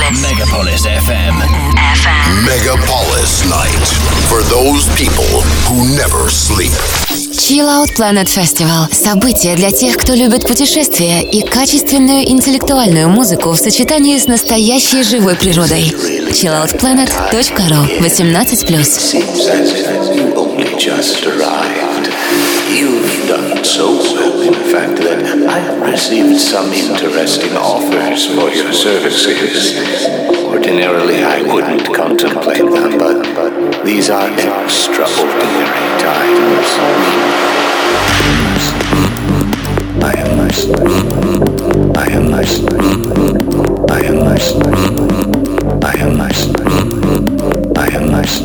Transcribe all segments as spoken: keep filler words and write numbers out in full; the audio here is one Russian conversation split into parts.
Megapolis эф эм. Megapolis Night. For those people who never sleep. Chill Out Planet Festival – событие для тех, кто любит путешествия и качественную интеллектуальную музыку в сочетании с настоящей живой природой. чилл аут планет точка ру. восемнадцать плюс. You've done so well, in fact, that I have received some interesting offers for your services. Ordinarily, I wouldn't contemplate them, but these are extraordinary times. I am nice. I am nice. I am nice. I am nice. I am nice.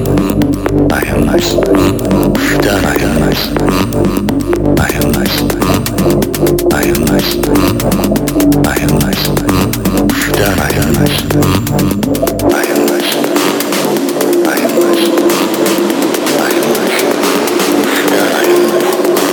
I am nice. Done. I am nice. I am nice. I am nice. I am nice. Done. I am nice. I am nice. I am nice. I am nice. Done. I am nice.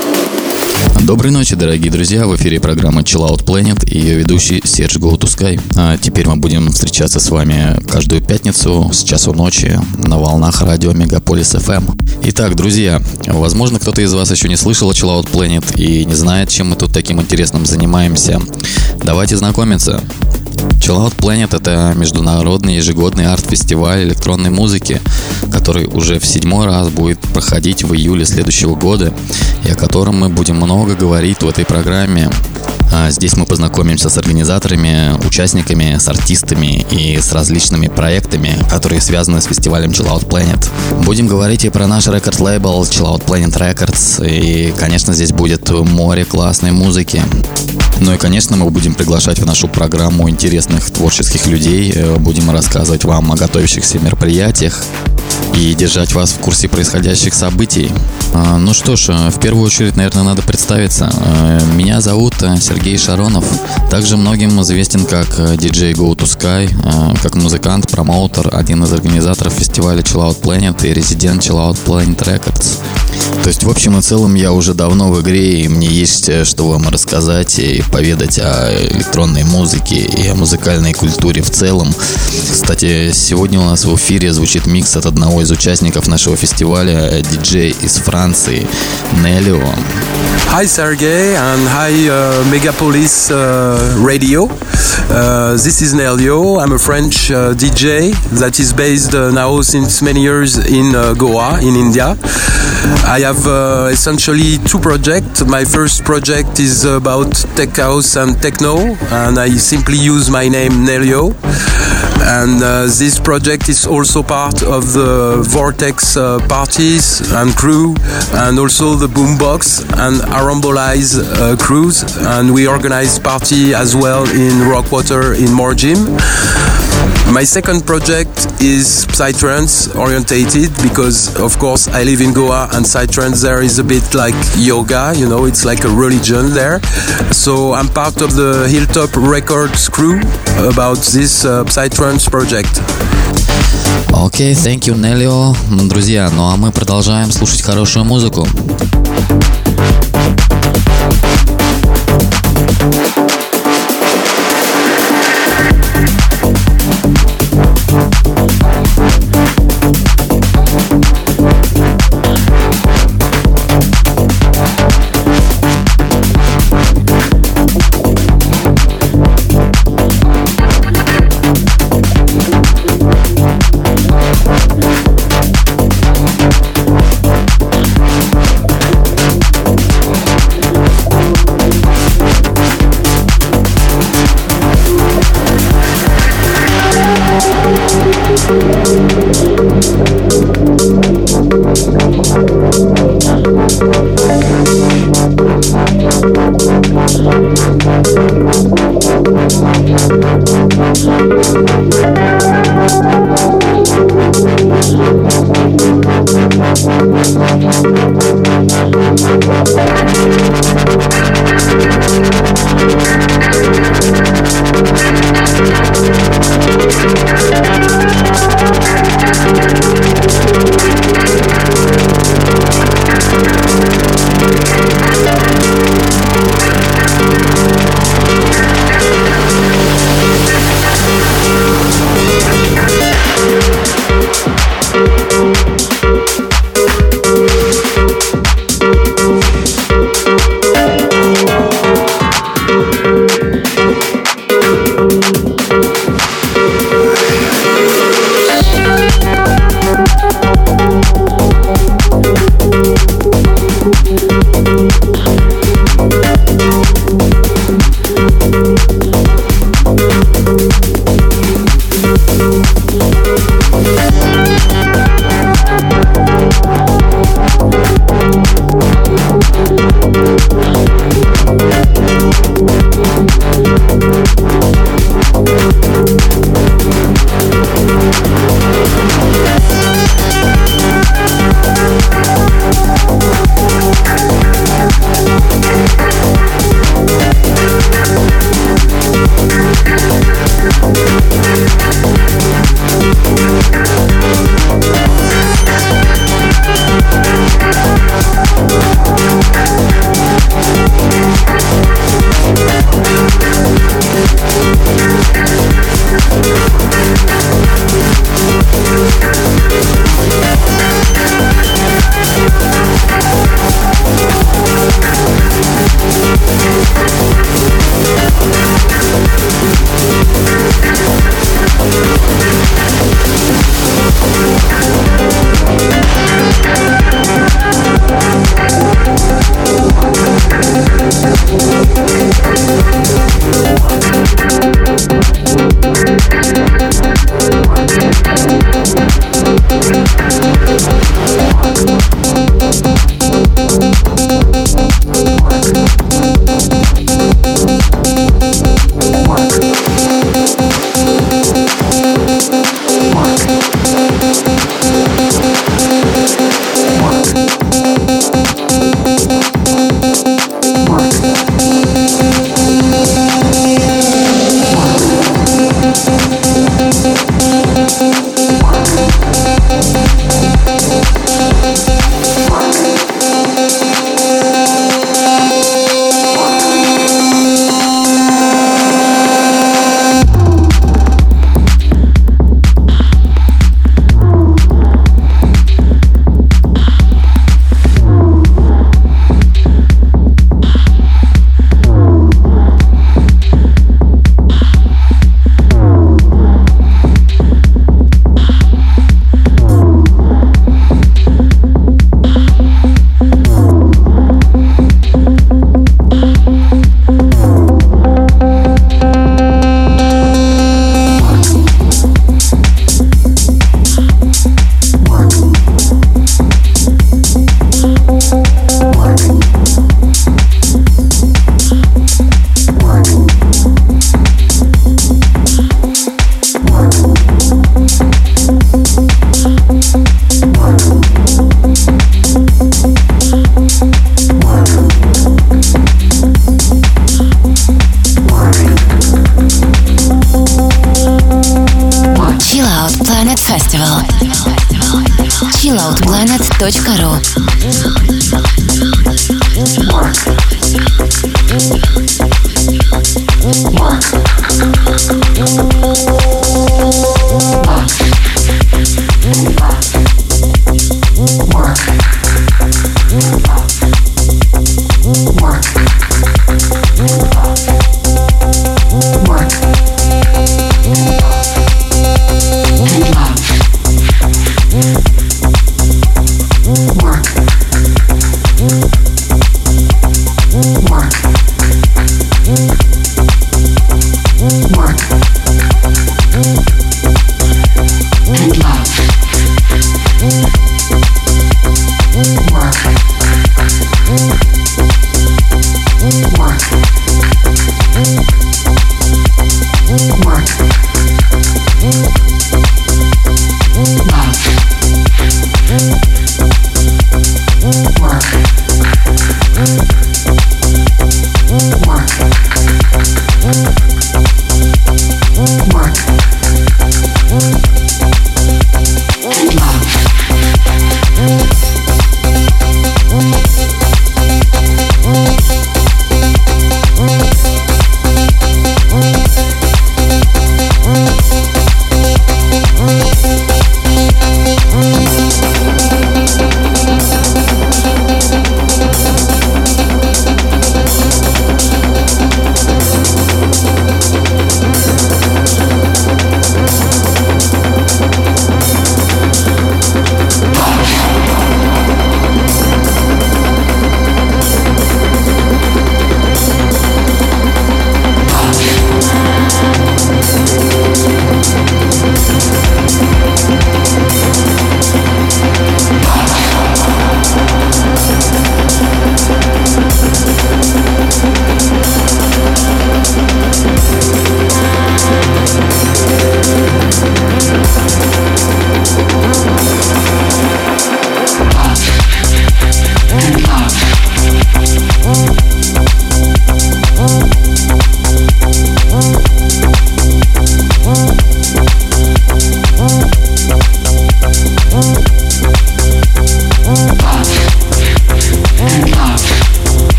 Доброй ночи, дорогие друзья, в эфире программа Chill Out Planet и ее ведущий Серж Go to Sky. А теперь мы будем встречаться с вами каждую пятницу с часу ночи на волнах радио Мегаполис эф эм. Итак, друзья, возможно, кто-то из вас еще не слышал о Chill Out Planet и не знает, чем мы тут таким интересным занимаемся. Давайте знакомиться. Chill Out Planet — это международный ежегодный арт-фестиваль электронной музыки, который уже в седьмой раз будет проходить в июле следующего года, и о котором мы будем много говорить в этой программе. Здесь мы познакомимся с организаторами, участниками, с артистами и с различными проектами, которые связаны с фестивалем Chill Out Planet. Будем говорить и про наш рекорд-лейбл Chill Out Planet Records, и, конечно, здесь будет море классной музыки. Ну и, конечно, мы будем приглашать в нашу программу интересных творческих людей, будем рассказывать вам о готовящихся мероприятиях и держать вас в курсе происходящих событий. Ну что ж, в первую очередь, наверное, надо представиться. Меня зовут Сергей Шаронов. Также многим известен как диджей Go to Sky, как музыкант, промоутер, один из организаторов фестиваля Chill Out Planet и резидент Chill Out Planet Records. То есть, в общем и целом, я уже давно в игре, и мне есть что вам рассказать и поведать о электронной музыке и о музыкальной культуре в целом. Кстати, сегодня у нас в эфире звучит микс от одного из участников нашего фестиваля, диджей из Франции, Нелио. Hi Sergey and hi uh, Megapolis uh, Radio. Uh, this is Nelio. I'm a French uh, D J that is based uh, now since many years in uh, Goa, in India. I have uh, essentially two projects. My first project is about tech house and techno, and I simply use my name Nelio. And uh, this project is also part of the Vortex uh, parties and crew, and also the Boombox and Arambolize uh, crews. And we organize party as well in Rockwater in Morjim. My second project is Psytrance orientated because, of course, I live in Goa and Psytrance there is a bit like yoga, you know, it's like a religion there. So I'm part of the Hilltop Records crew about this uh, Psytrance project. Окей, okay, thank you, Nelio. Друзья, ну а мы продолжаем слушать хорошую музыку. чилл аут планет точка ру.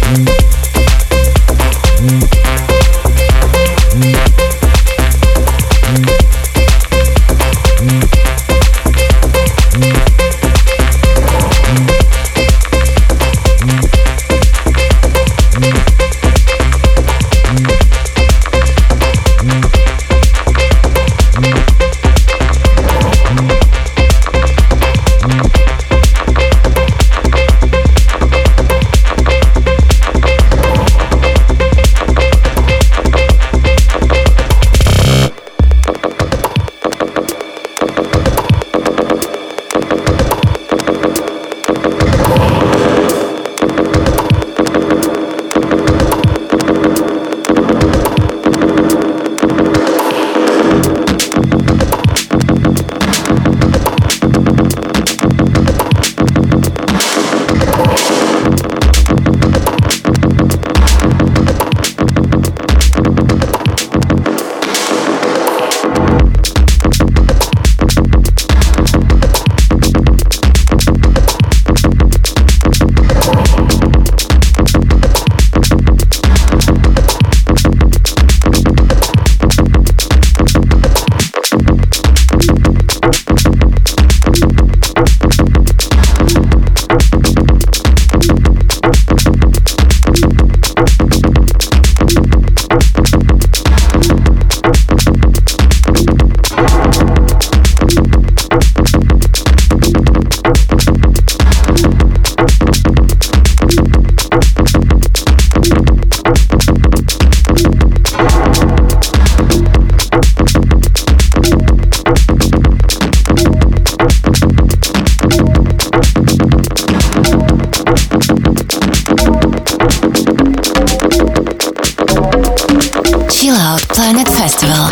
Planet Festival.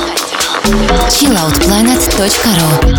чил аут планет точка ру.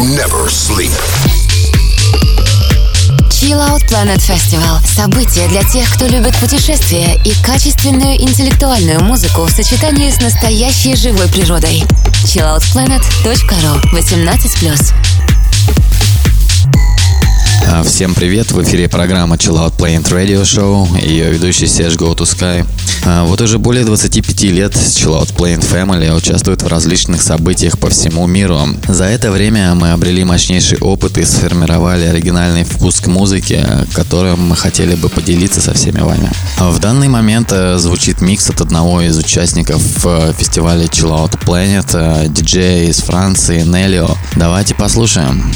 never sleep. Chill Out Planet Festival – событие для тех, кто любит путешествия и качественную интеллектуальную музыку в сочетании с настоящей живой природой. чилл аут планет точка ру. восемнадцать плюс. Всем привет, в эфире программа Chill Out Planet Radio Show и ее ведущий Серж Go to Sky. Вот уже более двадцати пяти лет Chill Out Planet Family участвует в различных событиях по всему миру. За это время мы обрели мощнейший опыт и сформировали оригинальный вкус к музыке, которым мы хотели бы поделиться со всеми вами. В данный момент звучит микс от одного из участников фестиваля Chill Out Planet, диджея из Франции Нелио. Давайте послушаем.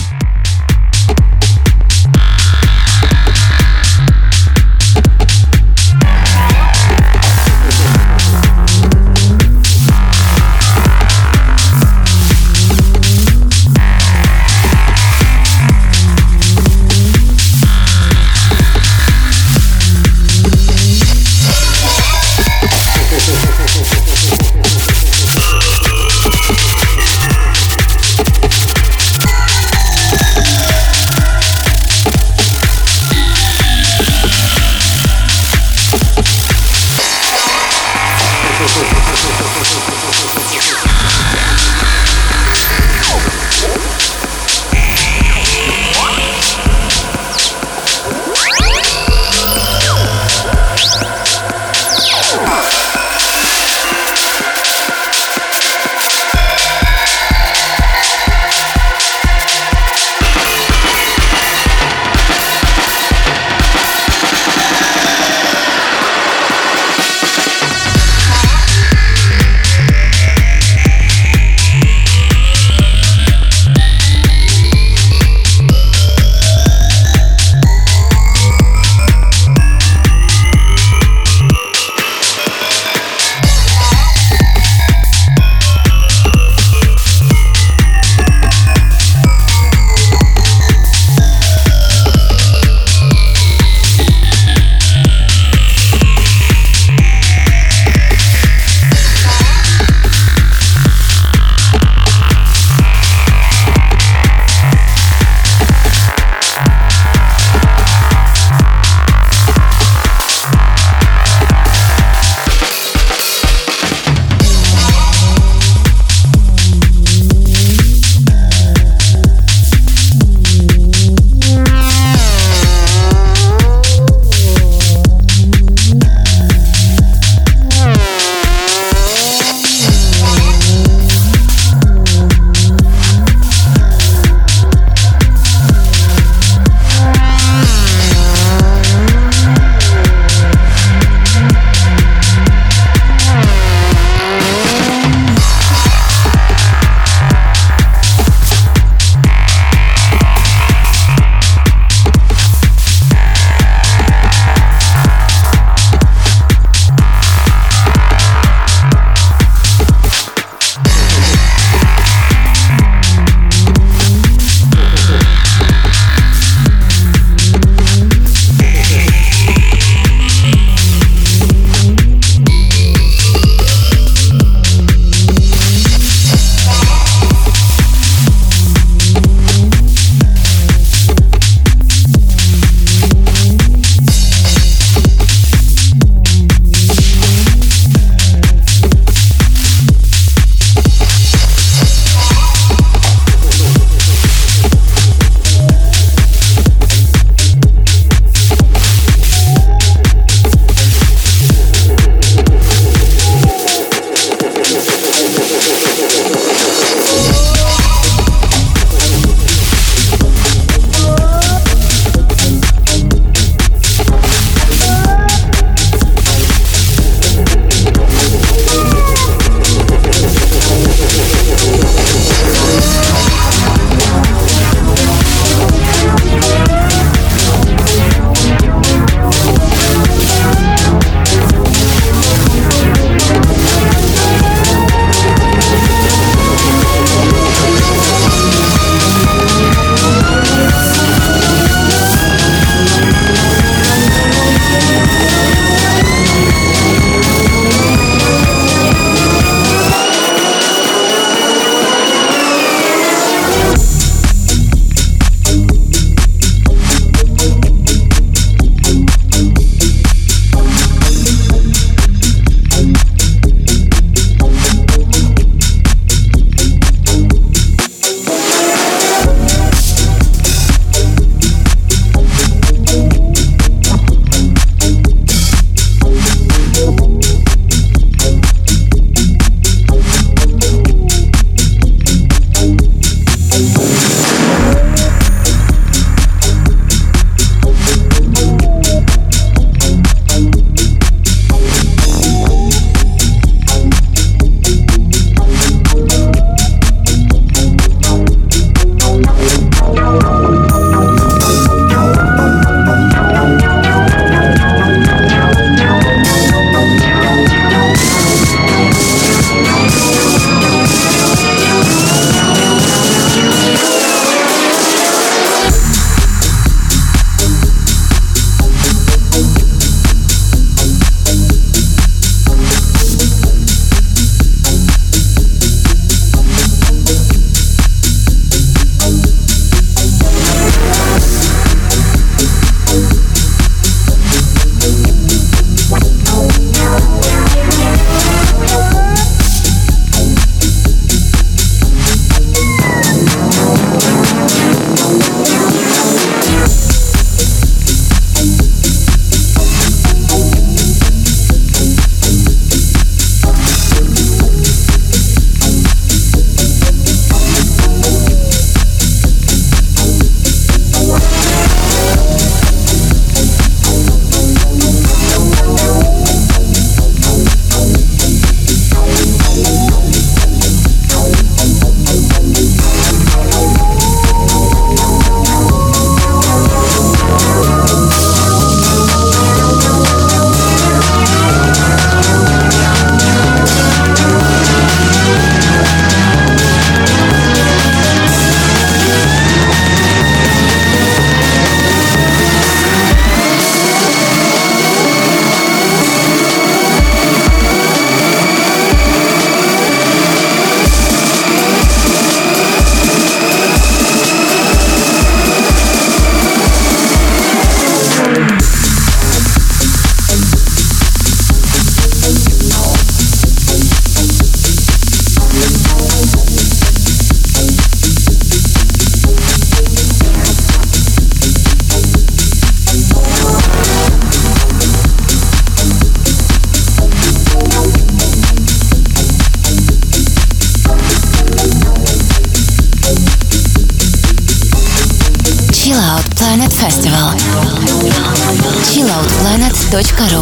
Planet Festival. чилл аут планет точка ру.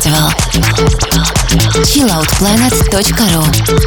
Festival. чилл аут планет точка ру.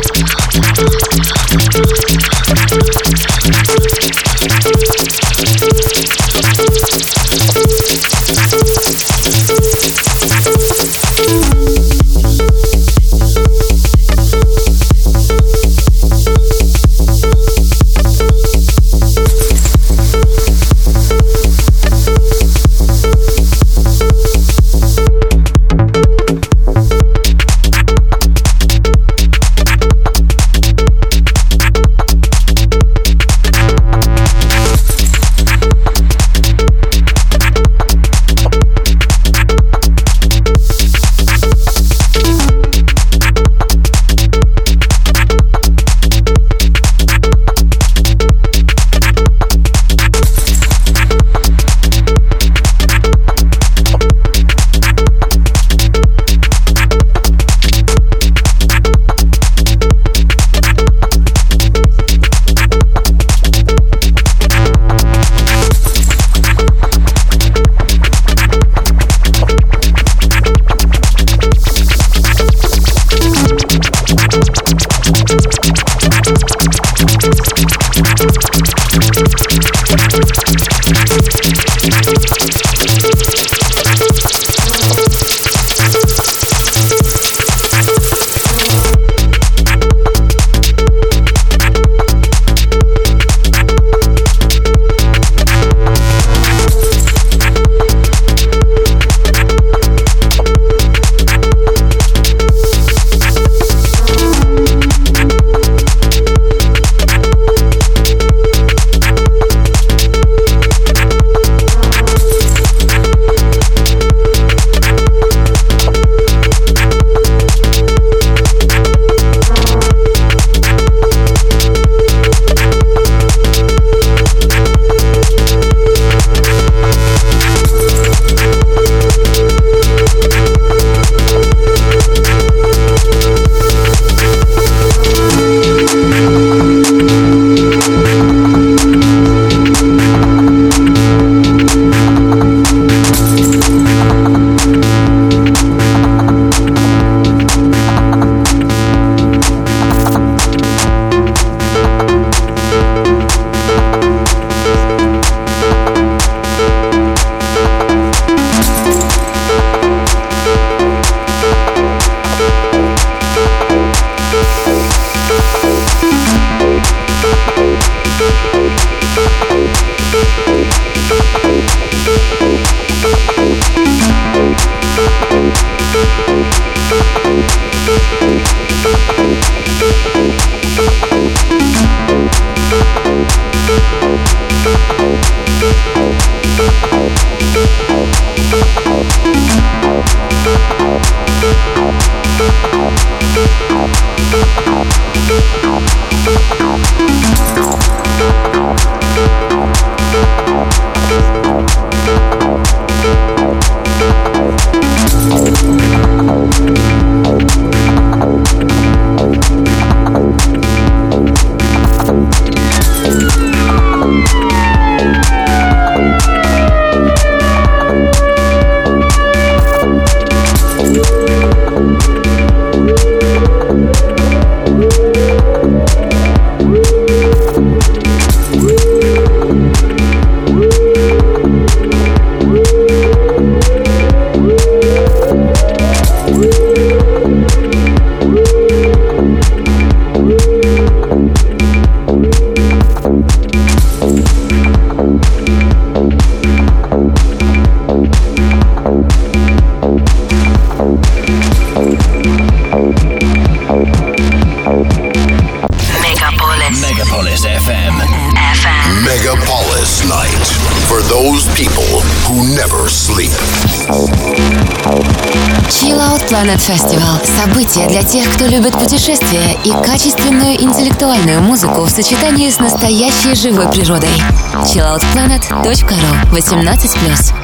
чилл аут планет Festival – событие для тех, кто любит путешествия и качественную интеллектуальную музыку в сочетании с настоящей живой природой. чилл аут планет точка ру. восемнадцать плюс.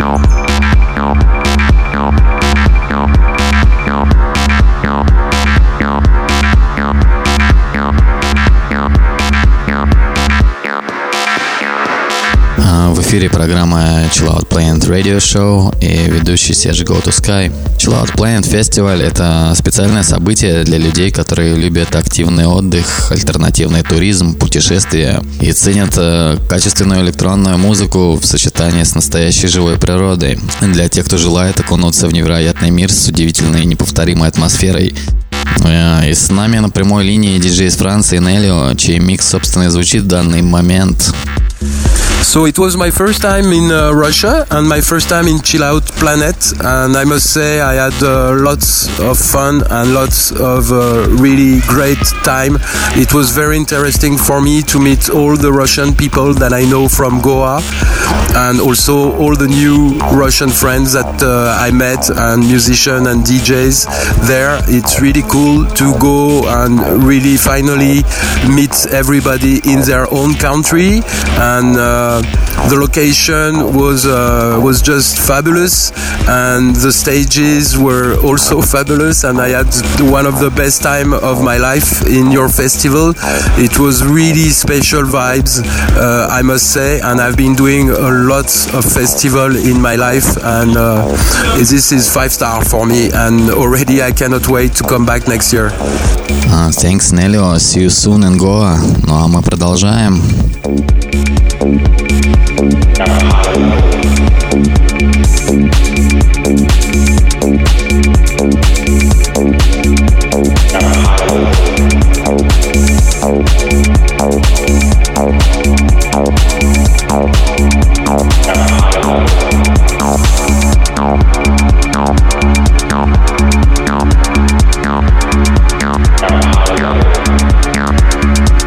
В эфире программа Chill Out Planet Radio Show и ведущий Серж Go To Sky. Chill Out Planet фестиваль — это специальное событие для людей, которые любят активный отдых, альтернативный туризм, путешествия и ценят качественную электронную музыку в сочетании с настоящей живой природой. Для тех, кто желает окунуться в невероятный мир с удивительной и неповторимой атмосферой. И с нами на прямой линии диджей из Франции Нелио, чей микс, собственно, и звучит в данный момент. So it was my first time in uh, Russia and my first time in Chill Out Planet, and I must say I had uh, lots of fun and lots of uh, really great time. It was very interesting for me to meet all the Russian people that I know from Goa, and also all the new Russian friends that uh, I met, and musicians and D Js there. It's really cool to go and really finally meet everybody in their own country, and uh, the location was uh, was just fabulous, and the stages were also fabulous, and I had one of the best time of my life in your festival. It was really special vibes, uh, I must say, and I've been doing a lot of festival in my life, and uh, this is five star for me, and already I cannot wait to come back next year. Uh, thanks, Nelio. See you soon in Goa. Ну а мы продолжаем.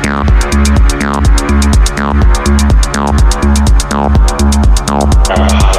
Now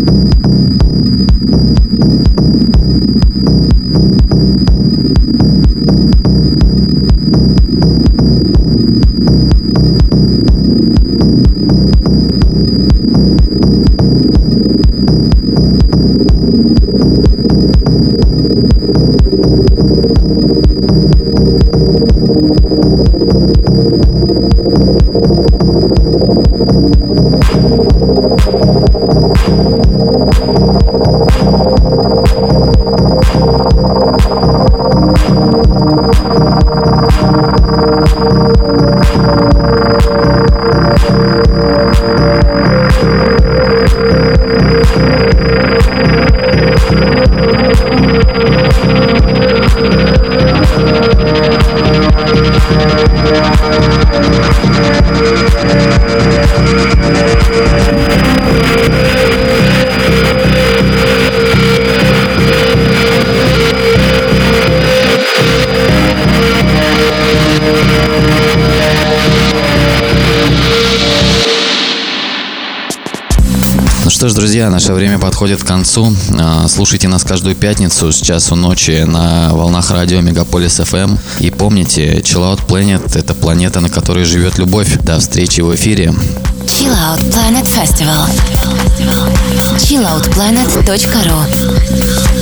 Что ж, друзья, наше время подходит к концу. Слушайте нас каждую пятницу с часу ночи на волнах радио Мегаполис эф эм. И помните, Chill Out Planet — это планета, на которой живет любовь. До встречи в эфире. Chill Out Planet Festival. чилл аут планет точка ру